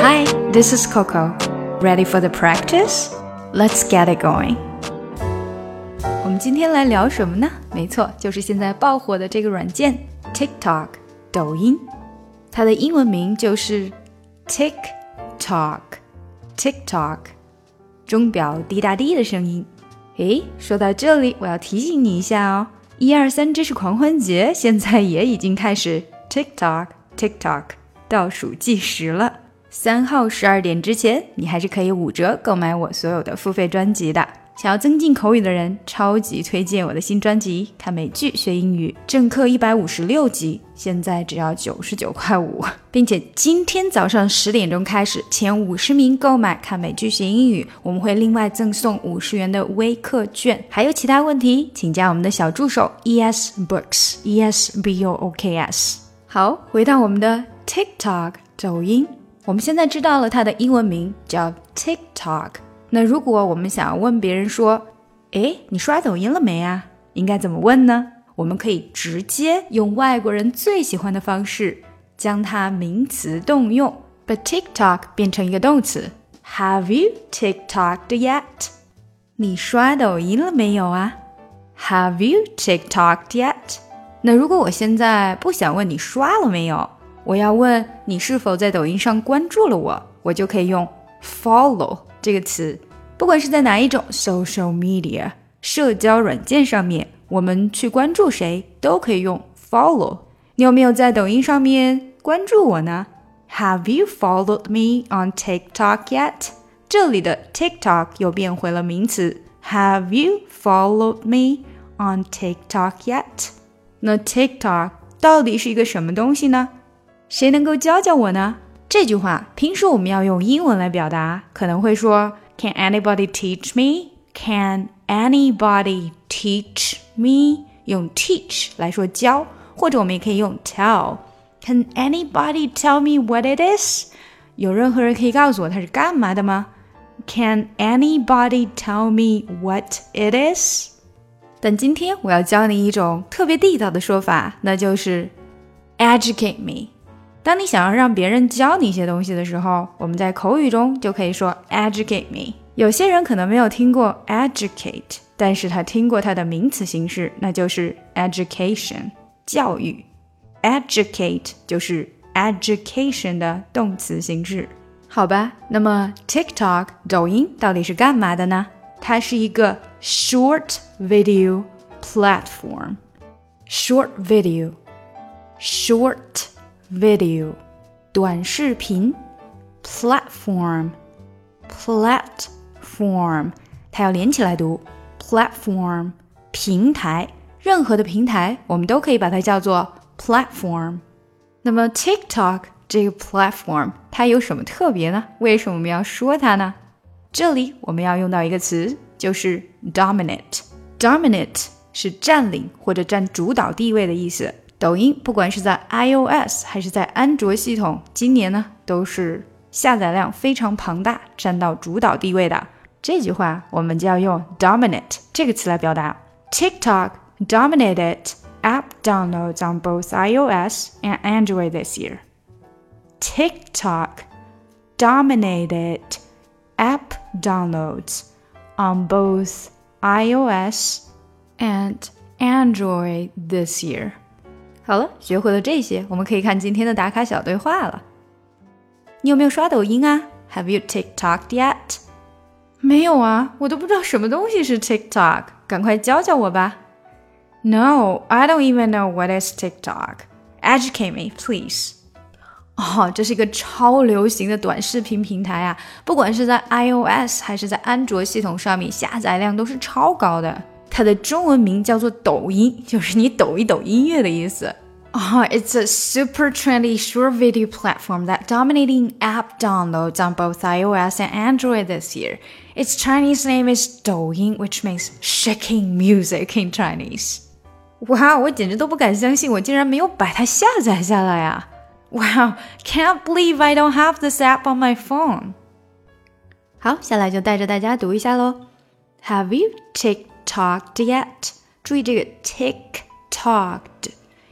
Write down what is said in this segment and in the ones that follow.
Hi, this is Coco. Ready for the practice? Let's get it going. 我们今天来聊什么呢？没错，就是现在爆火的这个软件 TikTok 抖音，它的英文名就是 TikTok 钟表滴答滴的声音。诶，说到这里我要提醒你一下哦，123知识狂欢节现在也已经开始 TikTok 倒数计时了。3号12点之前，你还是可以5折购买我所有的付费专辑的。想要增进口语的人，超级推荐我的新专辑《看美剧学英语》，正课156集，现在只要99.5块，并且今天早上10点钟开始，前50名购买《看美剧学英语》，我们会另外赠送50元的微课券。还有其他问题，请加我们的小助手 ESBooks ESBOOKS。好，回到我们的 TikTok 抖音，我们现在知道了它的英文名叫 TikTok。那如果我们想要问别人说，诶，你刷抖音了没啊？应该怎么问呢？我们可以直接用外国人最喜欢的方式，将它名词动用，把 TikTok 变成一个动词。Have you TikToked yet？ 你刷抖音了没有啊？ Have you TikToked yet？ 那如果我现在不想问你刷了没有，我要问你是否在抖音上关注了我，我就可以用 follow这个词。不管是在哪一种 social media 社交软件上面，我们去关注谁都可以用 follow。 你有没有在抖音上面关注我呢？ Have you followed me on TikTok yet？ 这里的 TikTok 又变回了名词， Have you followed me on TikTok yet？ 那 TikTok 到底是一个什么东西呢？谁能够教教我呢？这句话平时我们要用英文来表达，可能会说 Can anybody teach me? Can anybody teach me? 用 teach 来说教，或者我们也可以用 tell. Can anybody tell me what it is? 有任何人可以告诉我它是干嘛的吗？ Can anybody tell me what it is? 但今天我要教你一种特别地道的说法，那就是 educate me。当你想要让别人教你一些东西的时候，我们在口语中就可以说 educate me。 有些人可能没有听过 educate， 但是他听过它的名词形式，那就是 education 教育。 educate 就是 education 的动词形式。好吧，那么 TikTok 抖音到底是干嘛的呢？它是一个 short video platform。 short video 短视频。 platform 它要连起来读 platform 平台，任何的平台我们都可以把它叫做 platform。 那么 TikTok 这个 platform 它有什么特别呢？为什么我们要说它呢？这里我们要用到一个词，就是 dominate 是占领或者占主导地位的意思。抖音不管是在 iOS 还是在安卓系统，今年呢都是下载量非常庞大，占到主导地位的。这句话我们就要用 dominate 这个词来表达。 TikTok dominated app downloads on both iOS and Android this year. TikTok dominated app downloads on both iOS and Android this year. 好了，学会了这些，我们可以看今天的打卡小对话了。你有没有刷抖音啊？ Have you TikToked yet? 没有啊，我都不知道什么东西是 TikTok， 赶快教教我吧。 No, I don't even know what is TikTok. Educate me, please. 这是一个超流行的短视频平台啊，不管是在 iOS 还是在安卓系统上面，下载量都是超高的。它的中文名叫做抖音，就是你抖一抖音乐的意思。It's a super trendy short video platform that dominating app downloads on both iOS and Android this year. Its Chinese name is 抖音 which means shaking music in Chinese. 哇，我简直都不敢相信，我竟然没有把它下载下来啊。Wow, can't believe I don't have this app on my phone. 好，下来就带着大家读一下咯。 Have you TikToked yet? 注意这个 TikToked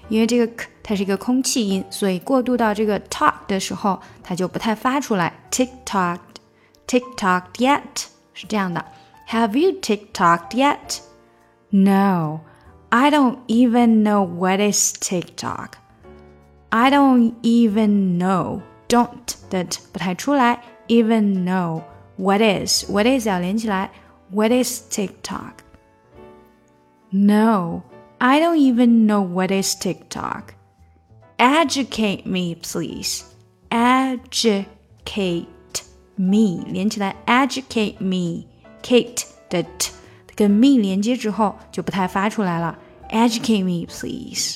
因为这个 k 它是一个空气音，所以过渡到这个 talk 的时候，它就不太发出来。TikTok, TikTok yet 是这样的。Have you TikToked yet? No, I don't even know what is TikTok. I don't even know. Don't 的 t 不太出来。Even know what is 要连起来。What is TikTok? No, I don't even know what is TikTok. Educate me, please. Educate me 连起来。Educate me. Kate 的 t 跟 me 连接之后就不太发出来了。Educate me, please.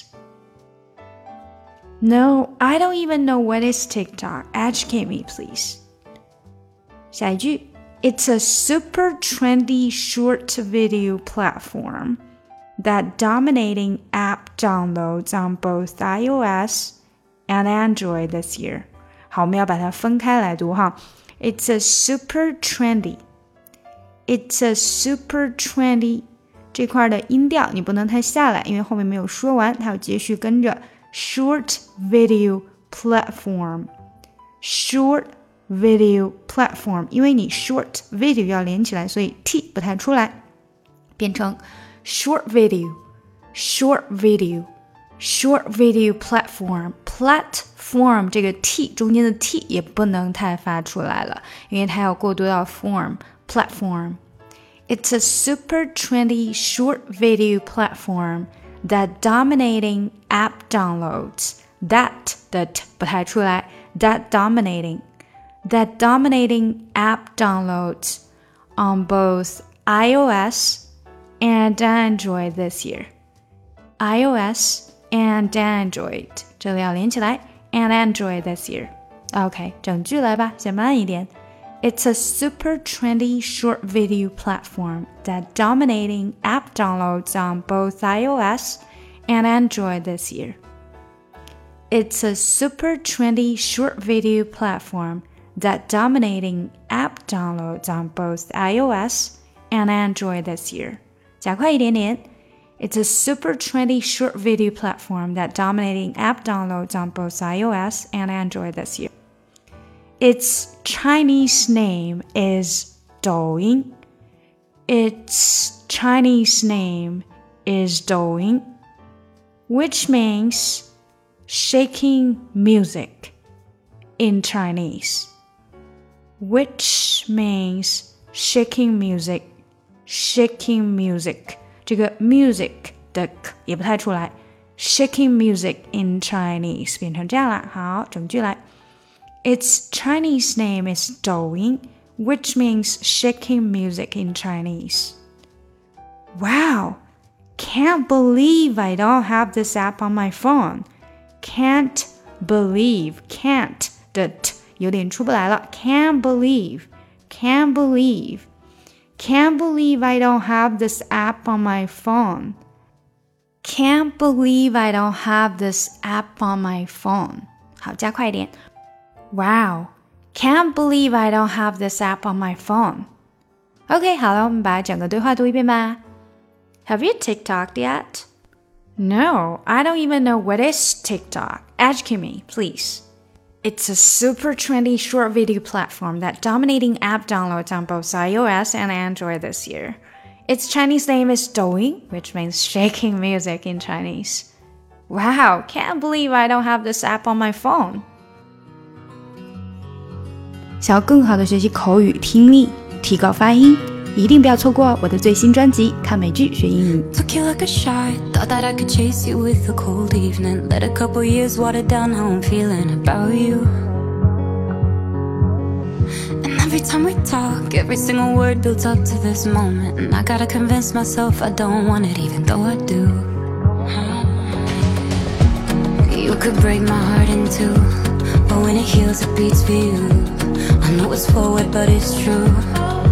No, I don't even know what is TikTok. Educate me, please. 下一句 It's a super trendy short video platform that dominating app downloads on both iOS and Android this year. 好，我们要把它分开来读哈。It's a super trendy. It's a super trendy. 这块的音调你不能太下来，因为后面没有说完，它要继续跟着。Short video platform. Short video platform. 因为你 short video 要连起来，所以 t 不太出来，变成 short video. Short video. Short video platform. Platform 这个 t 中间的 t 也不能太发出来了，因为它要过渡到 form. Platform. It's a super trendy short video platform that dominating app downloads. That 的 t 不太出来。That dominating app downloads on both iOS and Android this year. iOS and Android 这里要连起来 and Android this year. OK, 整句来吧，先慢一点。It's a super trendy short video platform that dominating app downloads on both iOS and Android this year. It's a super trendy short video platform that dominating app downloads on both iOS and Android this year. 加快一点点。It's a super trendy short video platform that dominating app downloads on both iOS and Android this year. Its Chinese name is Douyin. Its Chinese name is Douyin, which means shaking music in Chinese. Which means shaking music. Shaking music. 这个 music 的 k 也不太出来。Shaking music in Chinese 变成这样了。好，整句来。Its Chinese name is Douyin, which means shaking music in Chinese. Wow! Can't believe I don't have this app on my phone. Can't believe. Can't 的 t 有点出不来了。Can't believe. Can't believe. Can't believe I don't have this app on my phone. Can't believe I don't have this app on my phone. 好，加快一点。Wow, can't believe I don't have this app on my phone. OK, 好了，我们把整个对话读一遍吧。Have you TikToked yet? No, I don't even know what is TikTok. Educate me, please. It's a super trendy short video platform that dominating app downloads on both iOS and Android this year. Its Chinese name is Douyin, which means shaking music in Chinese. Wow, can't believe I don't have this app on my phone. 想要更好的学习口语听力，提高发音，一定不要错过我的最新专辑《看美剧学英语》。 Took you like a shot, thought that I could chase you with a cold evening. Let a couple years water down how I'm feeling about you. And every time we talk, every single word builds up to this moment. And I gotta convince myself I don't want it, even though I do. You could break my heart in two, but when it heals, it beats for you. I know it's forward, but it's true.